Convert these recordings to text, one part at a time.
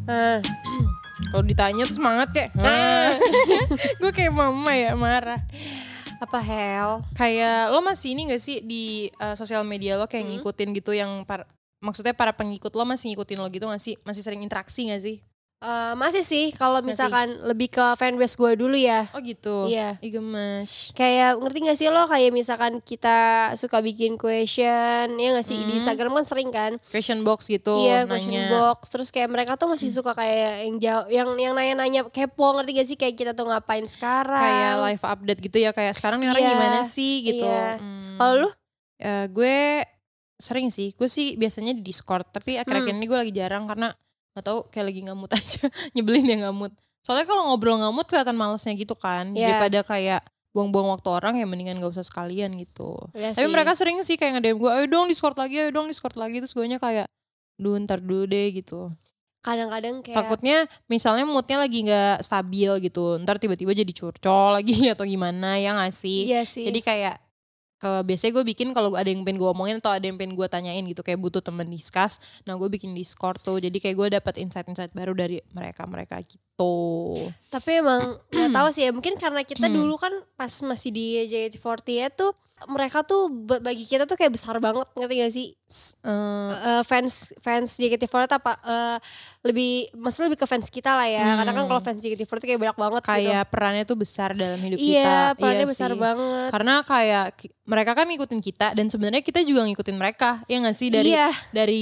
Ah. Kalau ditanya tuh semangat kayak gue kayak mama ya marah. Apa Hel? Kayak lo masih ini gak sih di sosial media lo kayak ngikutin gitu yang maksudnya para pengikut lo masih ngikutin lo gitu gak sih? Masih sering interaksi gak sih? Masih sih kalau misalkan lebih ke fanbase gue dulu ya. Oh gitu? Iya. Ih gemes. Kayak ngerti gak sih lo kayak misalkan kita suka bikin question ya gak sih di Instagram kan sering kan. Question box gitu Iya, nanya. question box. Terus kayak mereka tuh masih suka kayak yang jauh, yang nanya-nanya kepo, ngerti gak sih kayak kita tuh ngapain sekarang. Kayak live update gitu ya, kayak sekarang nih orang gimana sih gitu. Iya. Kalau lu? Gue sering sih, gue sih biasanya di Discord. Tapi akhir-akhir ini gue lagi jarang karena gak tahu kayak lagi gak mood aja. Nyebelin ya gak mood. Soalnya kalau ngobrol gak mood kelihatan malesnya gitu kan. Daripada kayak buang-buang waktu orang ya mendingan gak usah sekalian gitu. Tapi mereka sering sih kayak nge-DM gue, ayo dong Discord lagi. Terus gue nya kayak, ntar dulu deh gitu. Kadang-kadang kayak takutnya misalnya moodnya lagi gak stabil gitu. Ntar tiba-tiba jadi curcol lagi atau gimana ya gak sih? Iya sih. Jadi kayak biasanya gue bikin kalau ada yang pengen gue omongin atau ada yang pengen gue tanyain gitu, kayak butuh temen discuss, nah gue bikin Discord tuh, jadi kayak gue dapet insight-insight baru dari mereka gitu. Tapi emang nggak tahu sih ya, mungkin karena kita dulu kan pas masih di JKT48 tuh mereka tuh bagi kita tuh kayak besar banget, ngerti gak sih? Fans JKT48 apa maksudnya lebih ke fans kita lah ya. Karena kan kalau fans JKT48 kayak banyak banget kayak gitu. perannya tuh besar dalam hidup kita. Iya, perannya iya besar sih. banget. Karena kayak mereka kan ngikutin kita dan sebenarnya kita juga ngikutin mereka, ya gak sih, dari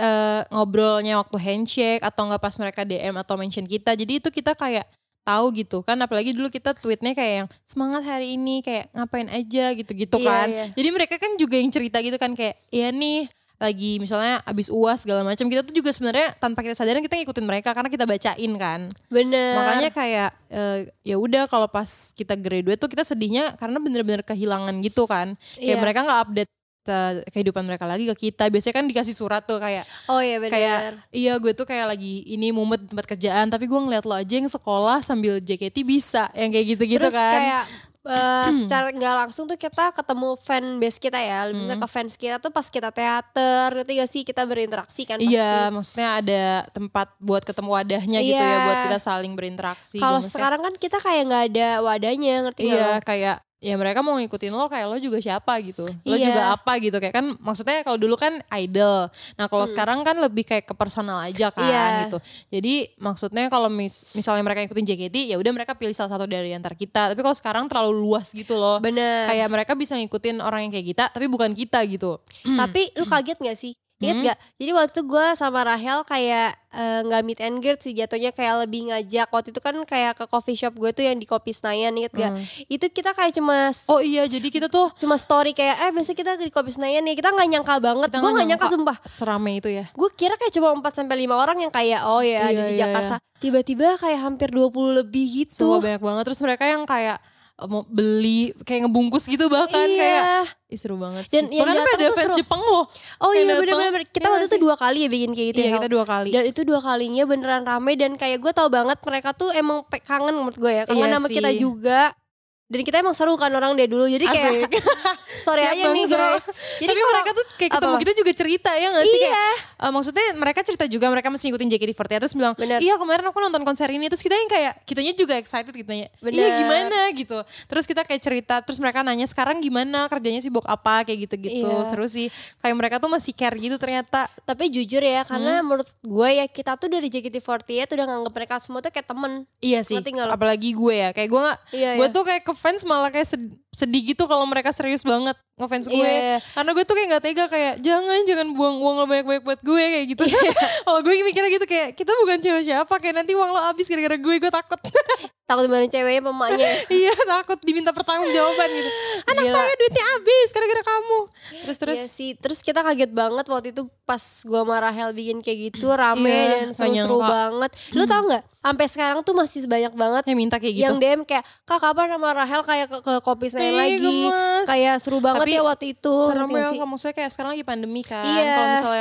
ngobrolnya waktu handshake atau enggak pas mereka DM atau mention kita. Jadi itu kita kayak tahu gitu kan, apalagi dulu kita tweetnya kayak yang semangat hari ini kayak ngapain aja gitu-gitu kan. Jadi mereka kan juga yang cerita gitu kan kayak ya nih lagi misalnya abis UAS segala macam, kita tuh juga sebenarnya tanpa kita sadarin kita ngikutin mereka karena kita bacain kan. Bener. Makanya kayak ya udah kalau pas kita graduate tuh kita sedihnya karena bener-bener kehilangan gitu kan. Kayak mereka nggak update kehidupan mereka lagi ke kita. Biasanya kan dikasih surat tuh kayak, oh iya benar, kayak iya gue tuh kayak lagi ini mumet tempat kerjaan, tapi gue ngeliat lo aja yang sekolah sambil JKT bisa, yang kayak gitu-gitu. Terus kan. Terus kayak secara nggak langsung tuh kita ketemu fan base kita ya, misalnya ke fans kita tuh pas kita teater, ngerti gak sih, kita berinteraksi kan pasti. Iya, maksudnya ada tempat buat ketemu wadahnya gitu ya, buat kita saling berinteraksi. Kalau sekarang kan kita kayak nggak ada wadahnya, ngerti gak? Iya, kayak ya mereka mau ngikutin lo kayak lo juga siapa gitu. Lo juga apa gitu, kayak kan maksudnya kalau dulu kan idol. Nah kalau sekarang kan lebih kayak ke personal aja kan gitu. Jadi maksudnya kalau misalnya mereka ngikutin JKT ya udah mereka pilih salah satu dari antar kita. Tapi kalau sekarang terlalu luas gitu loh. Bener. Kayak mereka bisa ngikutin orang yang kayak kita tapi bukan kita gitu. Tapi lu kaget gak sih? Ingat gak? Jadi waktu itu gue sama Rahel kayak gak meet and greet sih jatuhnya, kayak lebih ngajak. Waktu itu kan kayak ke coffee shop gue tuh yang di Kopi Senayan, inget gak? Itu kita kayak cuma oh iya, jadi kita tuh cuma story kayak biasa kita di Kopi Senayan nih. Kita gak nyangka banget, gue gak nyangka sumpah. Serame itu ya. Gue kira kayak cuma 4-5 orang yang kayak ada di Jakarta. Tiba-tiba kayak hampir 20 lebih gitu. Semua banyak banget. Terus mereka yang kayak mau beli kayak ngebungkus gitu bahkan kayak seru banget sih. Dan yang bahkan ada fans Jepang loh. Oh iya bener-bener. Kita waktu itu 2 kali ya bikin kayak gitu. Iya kita 2 kali. Dan itu 2 kalinya beneran rame. Dan kayak gue tau banget mereka tuh emang kangen menurut gue ya. Kangen sama kita juga. Dan kita emang seru kan orang dari dulu. Jadi kayak sorry aja nih guys. Jadi tapi mereka tuh kayak ketemu kita juga cerita ya gak sih? Kayak, maksudnya mereka cerita juga mereka masih ngikutin JKT48. Terus bilang iya kemarin aku nonton konser ini. Terus kita yang kayak kitanya juga excited kitanya. Iya gimana gitu. Terus kita kayak cerita. Terus mereka nanya sekarang gimana kerjanya sibuk apa kayak gitu-gitu. Seru sih. Kayak mereka tuh masih care gitu ternyata. Tapi jujur ya karena menurut gue ya kita tuh dari JKT48 udah nganggep mereka semua tuh kayak temen. Iya sih. Apalagi gue ya. Kayak gue gak. Gue tuh kayak fans malah kayak sedih gitu kalau mereka serius banget ngefans gue. Karena gue tuh kayak gak tega kayak jangan buang uang lo banyak-banyak buat gue kayak gitu. Kalau gue mikirnya gitu kayak kita bukan cewek siapa, kayak nanti uang lo habis gara-gara gue takut. Takut dimarahin ceweknya mamanya. Iya takut diminta pertanggungjawaban gitu. Anak saya duitnya habis gara-gara kamu. Terus iya sih. Terus kita kaget banget waktu itu pas gue sama Rahel bikin kayak gitu rame dan seru banget. Lu tau gak? Sampai sekarang tuh masih banyak banget yang minta kayak gitu. Yang DM kayak kak kapan sama Rahel kayak ke Kopi Senayan lagi. Gemes. Kayak seru banget. Tapi ya waktu itu. Serem ya maksudnya kayak sekarang lagi pandemi kan. Kalau misalnya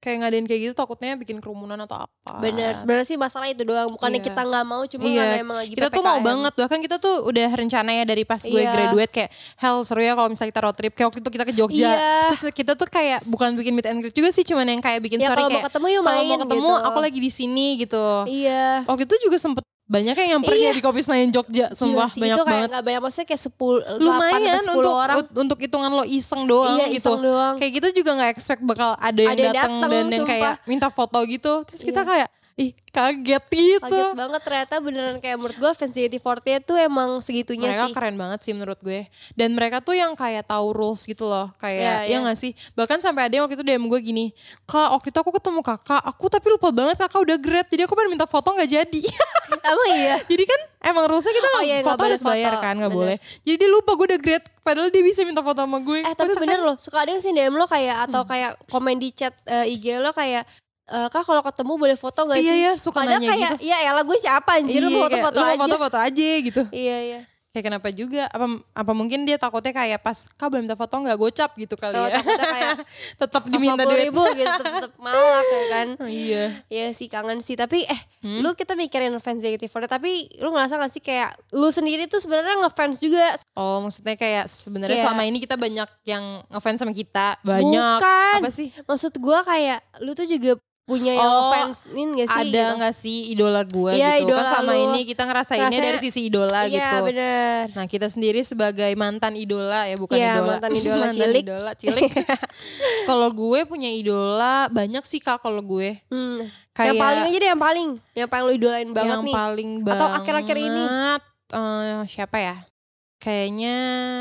kayak ngadain kayak gitu takutnya bikin kerumunan atau apa. Bener, sebenarnya sih masalah itu doang. Bukannya kita nggak mau, cuma karena emang lagi kita PPKM. tuh mau banget, bahkan kita tuh udah rencana ya dari pas gue graduate kayak seru ya kalau misalnya kita road trip. Kayak waktu itu kita ke Jogja, terus kita tuh kayak bukan bikin meet and greet juga sih, cuman yang kayak bikin story kayak kalau mau ketemu gitu. Aku lagi di sini gitu. Iya. Waktu itu juga sempet banyak yang nyamperin di Kopi Senayan Jogja, sumpah banyak itu kayak banget. Gak banyak, maksudnya kayak 10 lumayan 8, 10 orang. Untuk hitungan lo iseng doang gitu. Iseng doang. Kayak gitu juga gak expect bakal ada yang datang dan yang kayak minta foto gitu. Terus kita kayak kaget gitu. Kaget banget ternyata beneran kayak menurut gue fans JKT48 tuh emang segitunya mereka sih. Mereka keren banget sih menurut gue. Dan mereka tuh yang kayak tahu rules gitu loh. Kayak ya gak sih? Bahkan sampai ada yang waktu itu DM gue gini, Kak waktu itu aku ketemu kakak, aku tapi lupa banget kakak udah grad. Jadi aku pengen minta foto gak jadi. Emang iya? Jadi kan emang rulesnya kita foto harus bayar kan, gak boleh. Jadi dia lupa gue udah grad, padahal dia bisa minta foto sama gue. Tapi bener loh, suka ada yang sih DM lo kayak, atau kayak komen di chat IG lo kayak, Kak kalau ketemu boleh foto gak sih? Iya suka padahal nanya kayak, gitu. Iya elah gue siapa anjir, lu foto-foto aja. Lu foto-foto aja gitu. Iya. Kayak kenapa juga, apa mungkin dia takutnya kayak pas Kak boleh minta foto gak, gocap gitu kali ya. Takutnya kayak tetap diminta duit. 50.000 gitu, tetap malak ya kan. Iya. Iya sih kangen sih, tapi lu kita mikirin fans JKT48, tapi lu ngerasa gak sih kayak lu sendiri tuh sebenarnya ngefans juga? Oh maksudnya kayak sebenarnya selama ini kita banyak yang ngefans sama kita. Banyak. Bukan. Apa sih? Maksud gue kayak lu tuh juga punya yang ngefansin gak sih? Ada gitu? gak sih idola gue gitu? Idola kan selama ini kita ngerasainnya dari sisi idola gitu. Iya bener. Nah kita sendiri sebagai mantan idola ya, bukan idola. Mantan idola cilik. Kalau gue punya idola banyak sih Kak kalau gue. Yang Kayak paling aja deh, yang paling lu idolain banget yang nih. Yang paling banget. Atau akhir-akhir ini. Siapa ya? Kayaknya...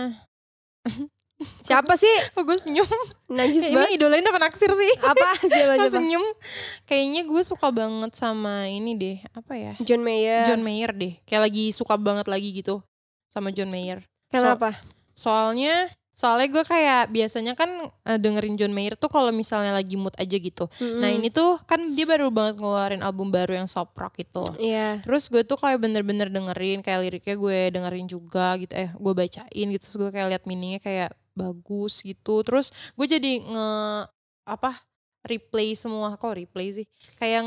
Siapa sih? Kok gue senyum? Najis banget. Ini idolain apa naksir sih? Apa? Coba. Senyum. Kayaknya gue suka banget sama ini deh. Apa ya? John Mayer deh. Kayak lagi suka banget lagi gitu sama John Mayer. Kenapa? Soalnya gue kayak biasanya kan dengerin John Mayer tuh kalau misalnya lagi mood aja gitu. Nah ini tuh kan dia baru banget ngeluarin album baru yang soft rock gitu. Iya. Terus gue tuh kayak bener-bener dengerin, kayak liriknya gue dengerin juga gitu. Gue bacain gitu. Terus gue kayak liat meaningnya kayak bagus gitu. Terus gue jadi replay semua. Kok replay sih? Kayak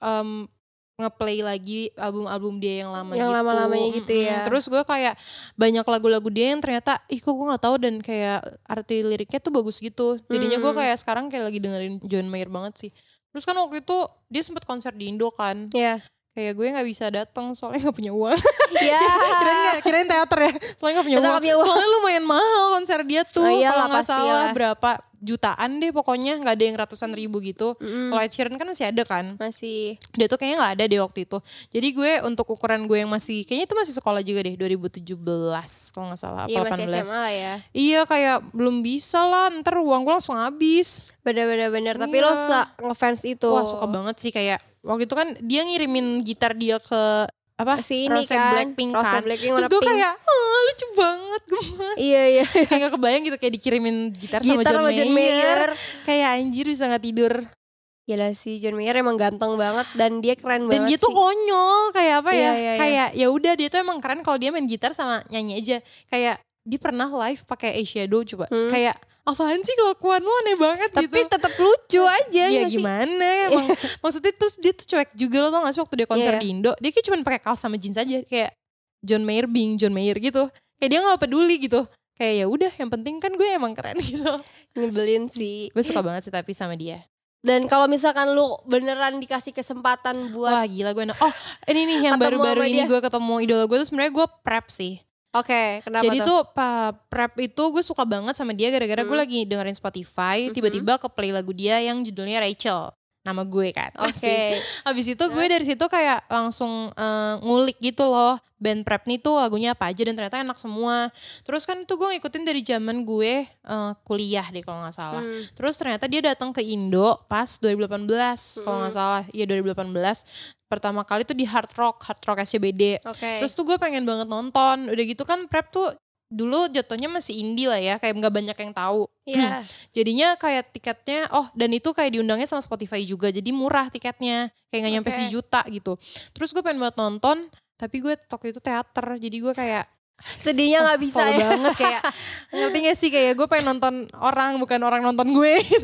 ngeplay lagi album-album dia yang lama yang gitu. lama-lamanya gitu ya. Terus gue kayak banyak lagu-lagu dia yang ternyata kok gue gak tahu, dan kayak arti liriknya tuh bagus gitu. Jadinya gue kayak sekarang kayak lagi dengerin John Mayer banget sih. Terus kan waktu itu dia sempat konser di Indo kan. Iya. Kayak gue gak bisa datang soalnya gak punya uang. Iya. kirain teater ya. Soalnya gak punya uang. Soalnya lumayan mahal konser dia tuh. Kalau gak salah berapa jutaan deh pokoknya. Gak ada yang ratusan ribu gitu. Kalau Ed Sheeran kan masih ada kan. Masih. Dia tuh kayaknya gak ada deh waktu itu. Jadi gue untuk ukuran gue yang masih, kayaknya itu masih sekolah juga deh. 2017 kalau gak salah. Iya masih SMA lah ya. Iya kayak belum bisa lah. Ntar uang gue langsung habis. Bener. Tapi lo ngefans itu. Wah suka banget sih kayak. Waktu itu kan dia ngirimin gitar dia ke si ini Rose kan Blackpink Rose kan. Blackpink, terus gue kayak lucu banget gemes. Iya kayak gak kebayang gitu kayak dikirimin gitar sama John Mayer. Kayak anjir bisa gak tidur. Gila sih, John Mayer emang ganteng banget dan dia keren banget. Dan dia tuh konyol kayak apa ya? Iya. Kayak ya udah dia tuh emang keren kalau dia main gitar sama nyanyi aja. Kayak dia pernah live pakai eyeshadow coba. Kayak apaan sih kelakuan lu, aneh banget tapi gitu. Tapi tetap lucu aja. Iya gimana emang. Maksudnya terus dia tuh cuek juga, lo tau gak sih waktu dia konser di Indo. Dia kayak cuma pakai kaos sama jeans aja. Kayak John Mayer being John Mayer gitu. Kayak dia gak peduli gitu. Kayak ya udah yang penting kan gue emang keren gitu. Nyebelin sih. Gue suka banget sih tapi sama dia. Dan kalau misalkan lu beneran dikasih kesempatan buat, wah gila gue enak. Oh ini nih yang baru-baru ini gue ketemu idola gue tuh sebenarnya gue prep sih. Oke, kenapa jadi tuh prep itu gue suka banget sama dia gara-gara gue lagi dengerin Spotify, tiba-tiba ke play lagu dia yang judulnya Rachel, nama gue kan. Oke. Habis itu gue dari situ kayak langsung ngulik gitu loh, band prep nih tuh lagunya apa aja dan ternyata enak semua. Terus kan itu gue ngikutin dari zaman gue kuliah deh kalau gak salah. Terus ternyata dia datang ke Indo pas 2018 kalau gak salah. Iya 2018. Pertama kali tuh di Hard Rock SCBD. Terus tuh gue pengen banget nonton. Udah gitu kan prep tuh dulu jatuhnya masih indie lah ya, kayak gak banyak yang tahu. Iya. Jadinya kayak tiketnya, dan itu kayak diundangnya sama Spotify juga, jadi murah tiketnya, kayak gak nyampe sejuta gitu. Terus gue pengen banget nonton, tapi gue waktu itu teater, jadi gue kayak sedihnya gak bisa ya. banget kayak ngerti gak sih, kayak gue pengen nonton orang, bukan orang nonton gue gitu.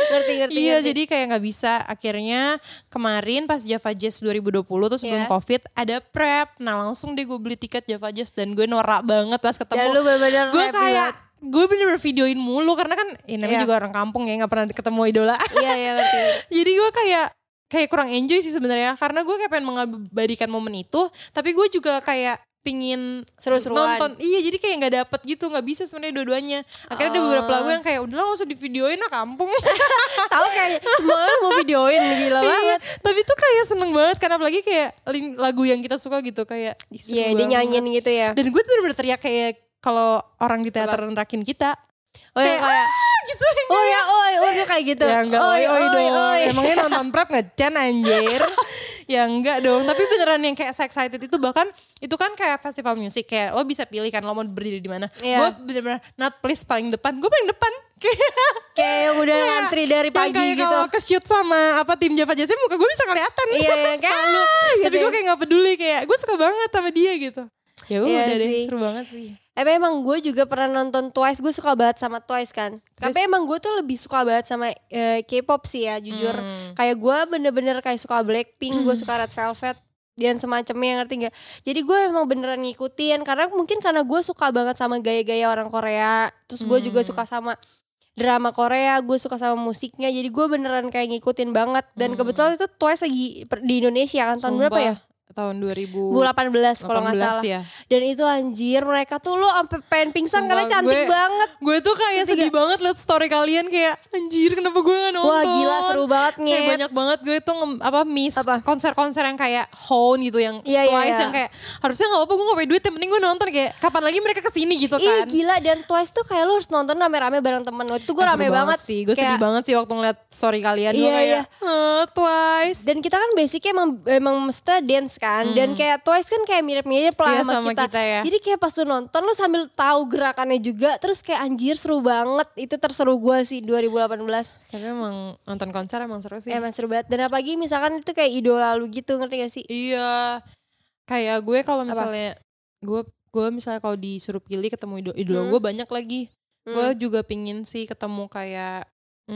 Ngerti. Iya, jadi kayak gak bisa. Akhirnya kemarin pas Java Jazz 2020 tuh sebelum COVID ada prep. Nah langsung deh gue beli tiket Java Jazz dan gue norak banget pas ketemu. Dan lu bener-bener gue kayak gue bener-bener videoin mulu karena kan namanya juga orang kampung ya, gak pernah ketemu idola. Iya ngerti. Jadi gue kayak kurang enjoy sih sebenarnya karena gue kayak pengen mengabadikan momen itu, tapi gue juga kayak pingin seru-seruan nonton. Iya, jadi kayak nggak dapet gitu, nggak bisa sebenarnya dua-duanya. Akhirnya ada beberapa lagu yang kayak udahlah nggak usah divideoin lah kampung. Tahu kayak semua orang mau videoin, gila banget. Tapi tuh kayak seneng banget karena apalagi kayak lagu yang kita suka gitu kayak. Iya, dia nyanyiin gitu ya. Dan gue tuh bener-bener teriak kayak kalau orang di teater nerakin kita. Oh ya kayak gitu. Oh ya kayak gitu. Ya enggak oi dong. Emangnya nonton prep ngecen anjir. Ya enggak dong, tapi beneran yang kayak excited itu, bahkan itu kan kayak festival musik, kayak lo bisa pilih kan lo mau berdiri di mana. Gue bener-bener not please paling depan, gue paling depan. Kayak udah ngantri dari pagi kayak gitu. Kalau ke-shoot sama tim Java Jazz muka gue bisa kelihatan. Iya kayak lu. Tapi gue kayak gak peduli, kayak gue suka banget sama dia gitu. Ya udah deh, seru banget sih. Tapi emang gue juga pernah nonton Twice, gue suka banget sama Twice kan. Tapi emang gue tuh lebih suka banget sama K-pop sih ya jujur. Kayak gue bener-bener kayak suka Blackpink, gue suka Red Velvet dan semacamnya, ngerti gak? Jadi gue emang beneran ngikutin karena mungkin karena gue suka banget sama gaya-gaya orang Korea. Terus gue juga suka sama drama Korea, gue suka sama musiknya. Jadi gue beneran kayak ngikutin banget. Dan kebetulan itu Twice lagi di Indonesia kan tahun berapa ya? Tahun 2018 kalau gak salah ya. Dan itu anjir mereka tuh lo sampai pengen pingsan karena cantik banget. Gue tuh kayak sedih banget liat story kalian, kayak anjir kenapa gue gak nonton. Wah gila seru banget nih. Kayak banyak banget gue tuh miss konser-konser yang kayak Hone gitu, yang Twice yang kayak harusnya gak apa-apa gue gak punya duit, yang penting gue nonton, kayak kapan lagi mereka kesini gitu kan. Gila, dan Twice tuh kayak lo harus nonton rame-rame bareng temen. Waktu itu gue rame banget sih. Gue sedih banget sih waktu ngeliat story kalian. Gue kayak Twice. Dan kita kan basicnya emang mesti dance kan. Dan kayak Twice kan kayak mirip-mirip lah sama kita ya. Jadi kayak pas lu nonton lu sambil tahu gerakannya juga, terus kayak anjir seru banget. Itu terseru gue sih 2018. Tapi emang nonton konser emang seru sih. Emang seru banget. Dan apalagi misalkan itu kayak idola lu gitu, ngerti gak sih? Iya. Kayak gue kalau misalnya gue misalnya kalau disuruh pilih ketemu idola gue banyak lagi. Gue juga pingin sih ketemu kayak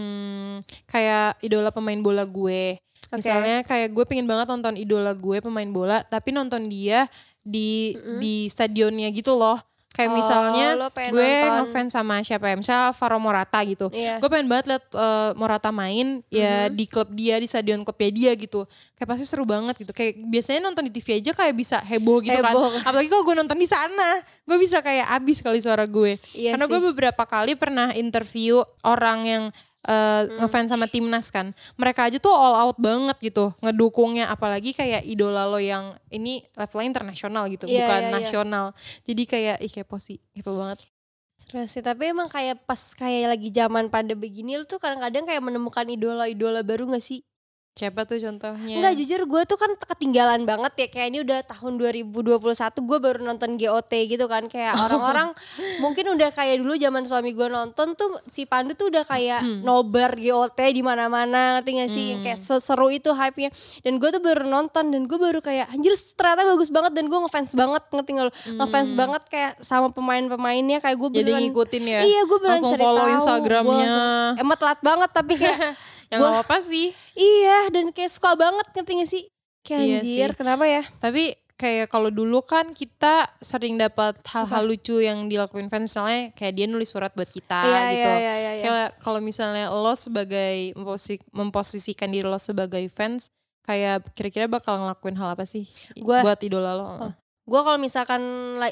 idola pemain bola gue. Misalnya kayak gue pengen banget nonton idola gue pemain bola, tapi nonton dia di stadionnya gitu loh. Kayak misalnya gue ngefans sama siapa ya, misalnya Alvaro Morata gitu. Gue pengen banget liat Morata main ya di klub dia, di stadion klubnya dia gitu. Kayak pasti seru banget gitu. Kayak biasanya nonton di TV aja kayak bisa heboh gitu kan. Apalagi kalau gue nonton di sana, gue bisa kayak abis kali suara gue. Karena gue beberapa kali pernah interview orang yang ngefans sama timnas kan, mereka aja tuh all out banget gitu ngedukungnya, apalagi kayak idola lo yang ini levelnya internasional gitu, bukan nasional. Jadi kayak kepo sih, kepo banget. Seru sih, tapi emang kayak pas kayak lagi zaman pandemi begini lu tuh kadang-kadang kayak menemukan idola-idola baru gak sih? Siapa tuh contohnya? Enggak, jujur gue tuh kan ketinggalan banget ya. Kayak ini udah tahun 2021 gue baru nonton GOT gitu kan. Kayak orang-orang mungkin udah kayak dulu zaman suami gue nonton tuh si Pandu tuh udah kayak nobar GOT di mana-mana, ngerti gak sih? Kayak seru itu hype-nya. Dan gue tuh baru nonton dan gue baru kayak anjir ternyata bagus banget, dan gue ngefans banget, ngerti gak lo? Ngefans banget kayak sama pemain-pemainnya, kayak gue beneran. Jadi ngikutin ya? Iya, gue beneran langsung cari follow tahu. Instagramnya. Emang telat banget tapi kayak ya gak apa-apa sih. Iya, dan kayak suka banget, ngerti gak sih? Kayak anjir, kenapa ya? Tapi kayak kalau dulu kan kita sering dapat hal-hal lucu yang dilakuin fans, misalnya kayak dia nulis surat buat kita gitu. Kayak kalau misalnya lo sebagai memposisikan diri lo sebagai fans, kayak kira-kira bakal ngelakuin hal apa sih buat idola lo? Gue kalau misalkan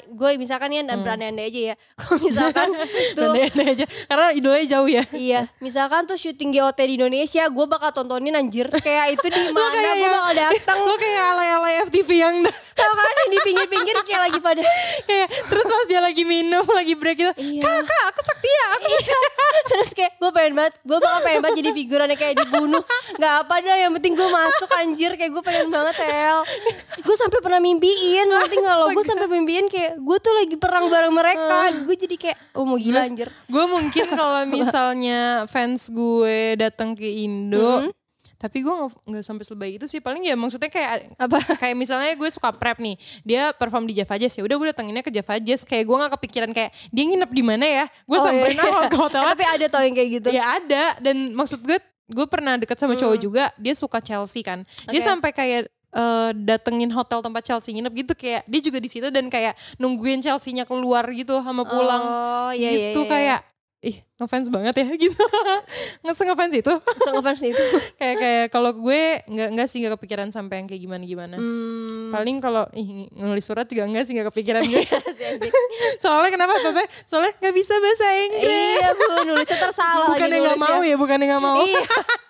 ya dan berandai-andai aja ya. Kalau misalkan tuh berandai-andai aja karena idolanya jauh ya. Iya, misalkan tuh syuting GOT di Indonesia, gue bakal tontonin anjir. Kayak itu di mana gue bakal datang. Lo kayak alay-alay FTV yang tau kan yang di pinggir-pinggir kayak lagi pada kayak terus pas dia lagi minum, lagi break gitu. Kakak, aku Saktia, Terus kayak gue bakal pengen banget jadi figurannya kayak dibunuh. Gak apa dah, yang penting gue masuk anjir. Kayak gue pengen banget gue sampai pernah mimpiin, nanti kalau gue sampai mimpiin kayak gue tuh lagi perang bareng mereka. Gue jadi kayak mau gila anjir. Gue mungkin kalau misalnya fans gue datang ke Indo, Tapi gue nggak sampai selebay itu sih. Paling ya maksudnya kayak apa? Kayak misalnya gue suka prep nih, dia perform di Java Jazz, ya udah gue datenginnya ke Java Jazz. Kayak gue nggak kepikiran kayak dia nginep di mana ya. Gue samperin ke hotel. Tapi ada tau yang kayak gitu. Ya ada. Dan maksud gue pernah deket sama cowok juga, dia suka Chelsea kan. Dia sampai kayak datengin hotel tempat Chelsea nginep gitu, kayak dia juga di situ dan kayak nungguin Chelsea-nya keluar gitu sama pulang. Gitu kayak ngefans banget ya gitu. ngefans itu. Ngefans itu. kayak kalau gue enggak sih, enggak kepikiran sampai yang kayak gimana. Paling kalau nulis surat juga enggak sih, enggak kepikiran gue. Soalnya kenapa? Soalnya enggak bisa bahasa Inggris. Iya, Bu, nulisnya tersalah. Bukannya enggak mau ya, bukannya enggak mau. Iya.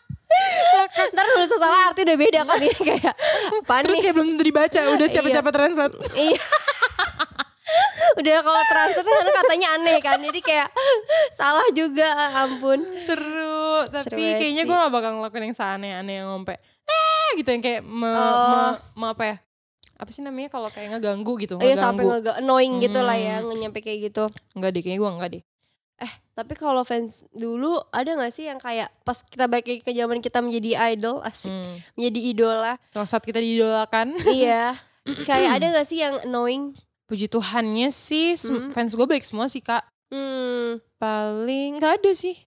Ntar nulis salah arti udah beda kan ya, kayak panik. Terus kayak belum tentu dibaca, udah capek-capek translate. Iya. Udah kalau translate karena katanya aneh kan, jadi kayak salah juga, ampun. Seru, tapi kayaknya gue gak bakal ngelakuin yang seaneh-aneh yang ngompe gitu, yang kayak apa ya, apa sih namanya kalau kayak ngeganggu gitu. Iya, sampai annoying gitu lah ya, nyampe kayak gitu. Enggak deh, kayaknya gue enggak deh. Tapi kalau fans dulu ada gak sih yang kayak pas kita balik ke zaman kita menjadi idol, asik, menjadi idola. Saat kita diidolakan. Iya, kayak ada gak sih yang annoying? Puji Tuhannya sih fans gue baik semua sih Kak. Paling gak ada sih.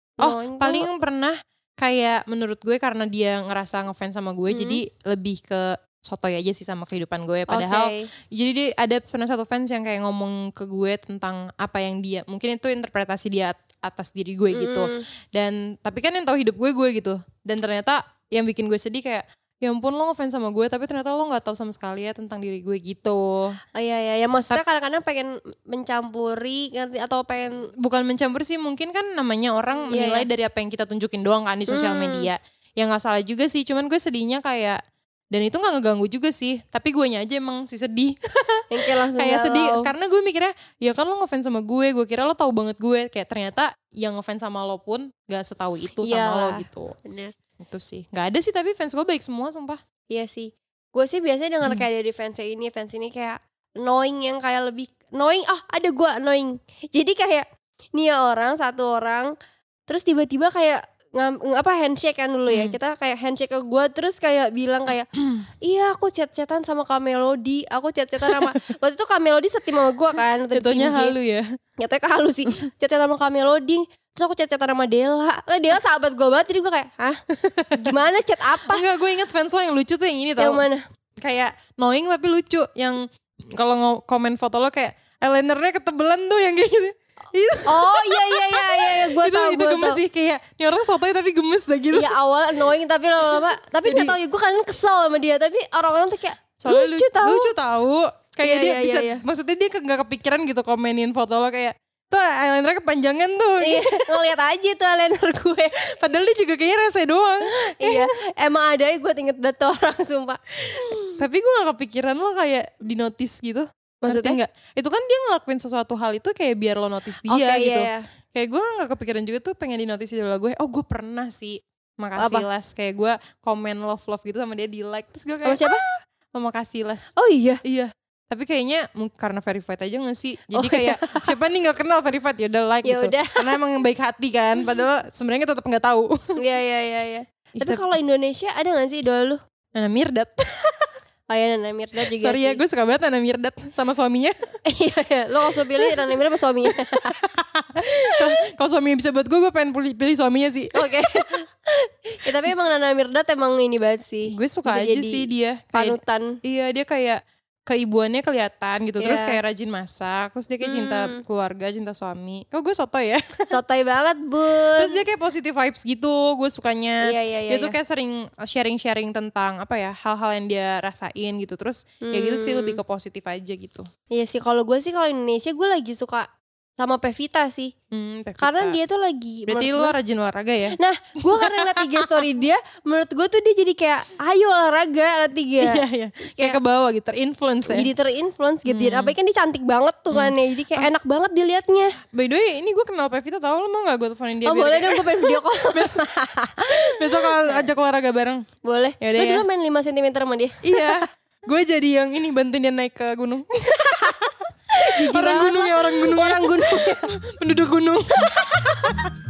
Paling pernah kayak menurut gue karena dia ngerasa ngefans sama gue, jadi lebih ke sotoy aja sih sama kehidupan gue. Padahal jadi ada pernah satu fans yang kayak ngomong ke gue tentang apa yang dia, mungkin itu interpretasi dia atas diri gue gitu. Dan tapi kan yang tahu hidup gue gitu. Dan ternyata yang bikin gue sedih kayak, ya ampun lo ngefans sama gue tapi ternyata lo gak tahu sama sekali ya tentang diri gue gitu. Iya, maksudnya kadang-kadang pengen mencampuri atau pengen. Bukan mencampuri sih, mungkin kan namanya orang menilai dari apa yang kita tunjukin doang kan di sosial media. Ya gak salah juga sih, cuman gue sedihnya kayak, dan itu gak ngeganggu juga sih, tapi guenya aja emang sih sedih. Yang kayak langsung kayak sedih, karena gue mikirnya ya kan lo ngefans sama gue kira lo tahu banget gue, kayak ternyata yang ngefans sama lo pun gak setahu itu sama lo gitu. Bener. Itu sih, gak ada sih, tapi fans gue baik semua sumpah. Iya sih, gue sih biasanya denger kayak dari fans ini kayak annoying, yang kayak lebih annoying. Ada gue annoying, jadi kayak nih satu orang terus tiba-tiba kayak handshake kan dulu ya, kita kayak handshake ke gue, terus kayak bilang kayak iya aku chat-chatan sama Kak Melody, aku chat-chatan sama waktu itu Kak Melody setim sama gue kan, jatuhnya halu ya, jatuhnya halu sih. Chat-chatan sama Kak Melody, terus aku chat-chatan sama Dela. Dela sahabat gue banget, jadi gue kayak hah gimana, chat apa? Enggak, gue inget fans lo yang lucu tuh yang ini tau. Yang mana? Kayak knowing tapi lucu, yang kalau komen foto lo kayak eyelinernya ketebelan tuh, yang kayak gitu. Oh iya, gue tau. Itu gemes sih, kayak ini orang sotoy tapi gemes dah gitu. Iya, awal annoying tapi lama-lama, tapi gak tau ya, gue kan kesel sama dia, tapi orang-orang tuh kayak lucu tau. Kayak dia bisa, maksudnya dia gak kepikiran gitu komenin foto lo kayak, tuh eyelinernya kepanjangan tuh. Iya, ngeliat aja tuh eyeliner gue. Padahal dia juga kayaknya rese doang. Iya, emang ada ya, gue inget banget orang sumpah. Tapi gue gak kepikiran lo kayak di notice gitu. Maksudnya enggak? Itu kan dia ngelakuin sesuatu hal itu kayak biar lo notice dia gitu. Iya. Kayak gue gak kepikiran juga tuh pengen di notice idola gue. Oh gue pernah sih, makasih Les. Kayak gue komen love gitu sama dia, di like. Terus gue kayak, sama siapa? Makasih Les. Oh iya? Iya. Tapi kayaknya karena verified aja gak sih? Jadi kayak siapa nih gak kenal verified, ya udah like gitu. Karena emang baik hati kan. Padahal sebenarnya tetap gak tau. Iya. Tapi kalau Indonesia ada gak sih idola lu? Nana Mirdad. Oh ya, Nana Mirdad juga. Sorry ya, gue suka banget Nana Mirdad sama suaminya. Iya, lo langsung pilih Nana Mirdad sama suaminya. Kalau suaminya bisa buat gue pengen pilih suaminya sih. Oke. Ya, tapi emang Nana Mirdad emang ini banget sih. Gue suka bisa aja sih dia. Panutan. Iya, dia kayak keibuannya kelihatan gitu, terus kayak rajin masak, terus dia kayak cinta keluarga, cinta suami. Kok gue sotoy ya? Sotoy banget bun. Terus dia kayak positive vibes gitu, gue sukanya. Dia tuh kayak sering sharing tentang apa ya, hal-hal yang dia rasain gitu, terus kayak gitu sih, lebih ke positif aja gitu. Iya sih, kalau gue sih kalau Indonesia gue lagi suka sama Pevita sih. Pevita. Karena dia tuh lagi, berarti lo rajin olahraga ya? Nah, gue karena ngeliat IG story dia, menurut gue tuh dia jadi kayak ayo olahraga nanti ya. Iya. Kayak ke bawah gitu, terinfluence ya. Jadi terinfluence gitu. Apalagi kan dia cantik banget tuh kan ya. Jadi kayak enak banget dilihatnya. By the way, ini gue kenal Pevita, tau lo mau gak gue teleponin dia? Oh boleh dong, gue pengen video call. Besok ajak olahraga bareng. Boleh. Lo dulu main 5 cm sama dia? Iya. Gue jadi yang ini, bantuin dia naik ke gunung. Orang gunung ya. Penduduk gunung.